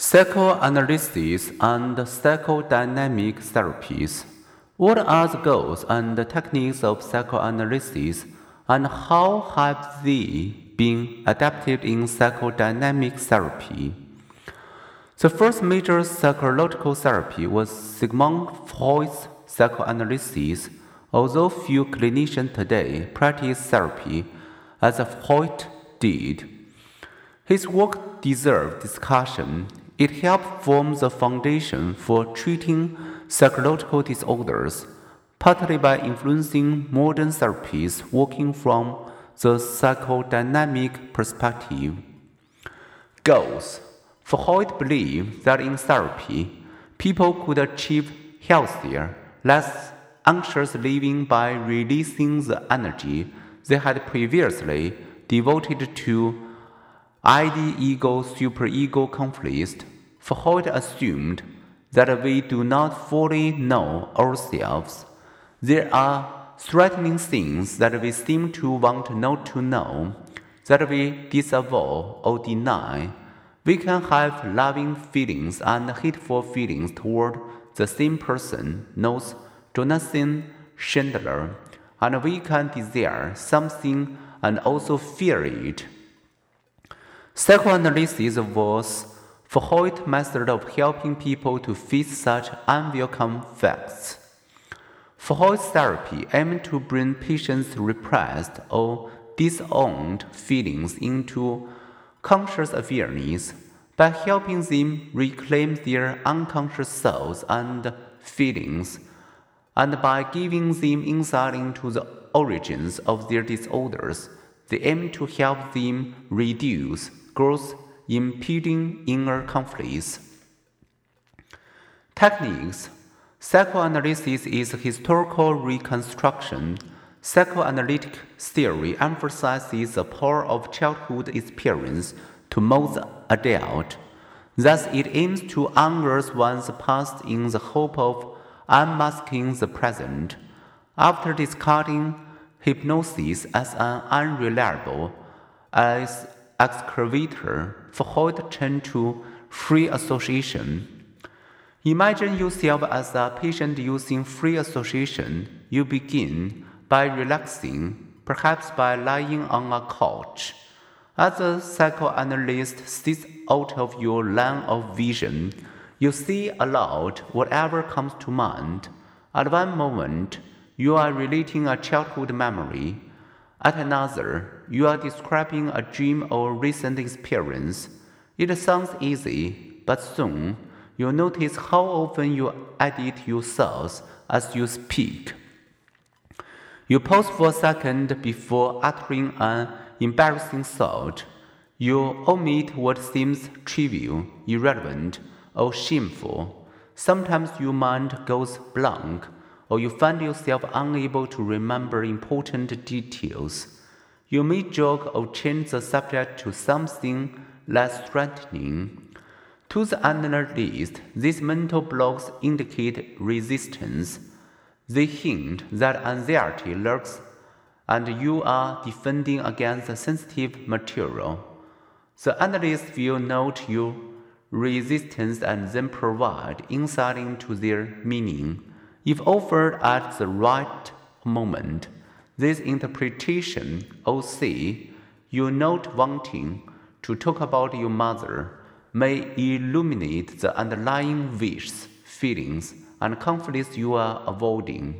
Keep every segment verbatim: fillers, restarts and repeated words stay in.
Psychoanalysis and psychodynamic therapies. What are the goals and techniques of psychoanalysis, and how have they been adapted in psychodynamic therapy? The first major psychological therapy was Sigmund Freud's psychoanalysis, although few clinicians today practice therapy as Freud did. His work deserves discussion. It helped form the foundation for treating psychological disorders, partly by influencing modern therapies working from the psychodynamic perspective. Goals. Freud believed that in therapy, people could achieve healthier, less anxious living by releasing the energy they had previously devoted to id-ego-superego conflicts. Freud assumed that we do not fully know ourselves. There are threatening things that we seem to want not to know, that we disavow or deny. We can have loving feelings and hateful feelings toward the same person, notes Jonathan Schindler, and we can desire something and also fear it. Psychoanalysis was Freud's method of helping people to face such unwelcome facts. Freud's therapy aimed to bring patients' repressed or disowned feelings into conscious awareness by helping them reclaim their unconscious thoughts and feelings, and by giving them insight into the origins of their disorders. They aim to help them reduce growth impeding inner conflicts. Techniques. Psychoanalysis is historical reconstruction. Psychoanalytic theory emphasizes the power of childhood experience to mold the adult. Thus, it aims to unearth one's past in the hope of unmasking the present. After discarding hypnosis as an unreliable as excavator, Freud turned to free association. Imagine yourself as a patient using free association. You begin by relaxing, perhaps by lying on a couch. As the psychoanalyst sits out of your line of vision, you say aloud whatever comes to mind. At one moment, you are relating a childhood memory. At another, you are describing a dream or recent experience. It sounds easy, but soon you notice how often you edit your thoughts as you speak. You pause for a second before uttering an embarrassing thought. You omit what seems trivial, irrelevant, or shameful. Sometimes your mind goes blank, or you find yourself unable to remember important details. You may joke or change the subject to something less threatening. To the analyst, these mental blocks indicate resistance. They hint that anxiety lurks and you are defending against sensitive material. The analyst will note your resistance and then provide insight into their meaning. If offered at the right moment, this interpretation, or say, you not wanting to talk about your mother, may illuminate the underlying wishes, feelings, and conflicts you are avoiding.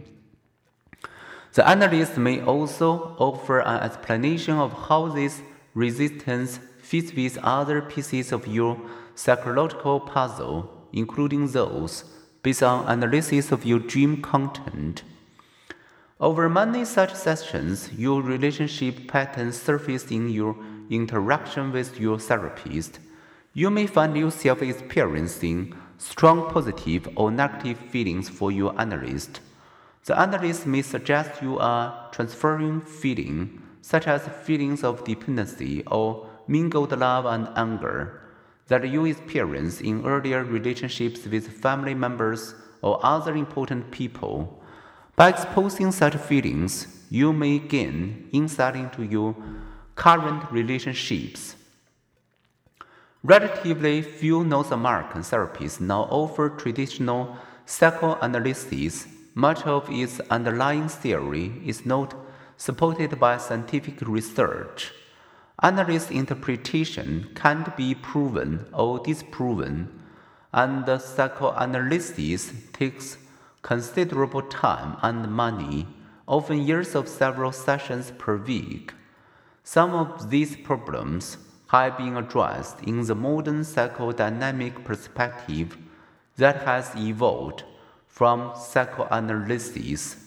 The analyst may also offer an explanation of how this resistance fits with other pieces of your psychological puzzle, including those based on analysis of your dream content. Over many such sessions, your relationship patterns surface in your interaction with your therapist. You may find yourself experiencing strong positive or negative feelings for your analyst. The analyst may suggest you are transferring feelings, such as feelings of dependency or mingled love and anger, that you experience in earlier relationships with family members or other important people. By exposing such feelings, you may gain insight into your current relationships. Relatively few North American therapies now offer traditional psychoanalysis. Much of its underlying theory is not supported by scientific research. Analyst interpretation can't be proven or disproven, and psychoanalysis takes considerable time and money, often years of several sessions per week. Some of these problems have been addressed in the modern psychodynamic perspective that has evolved from psychoanalysis.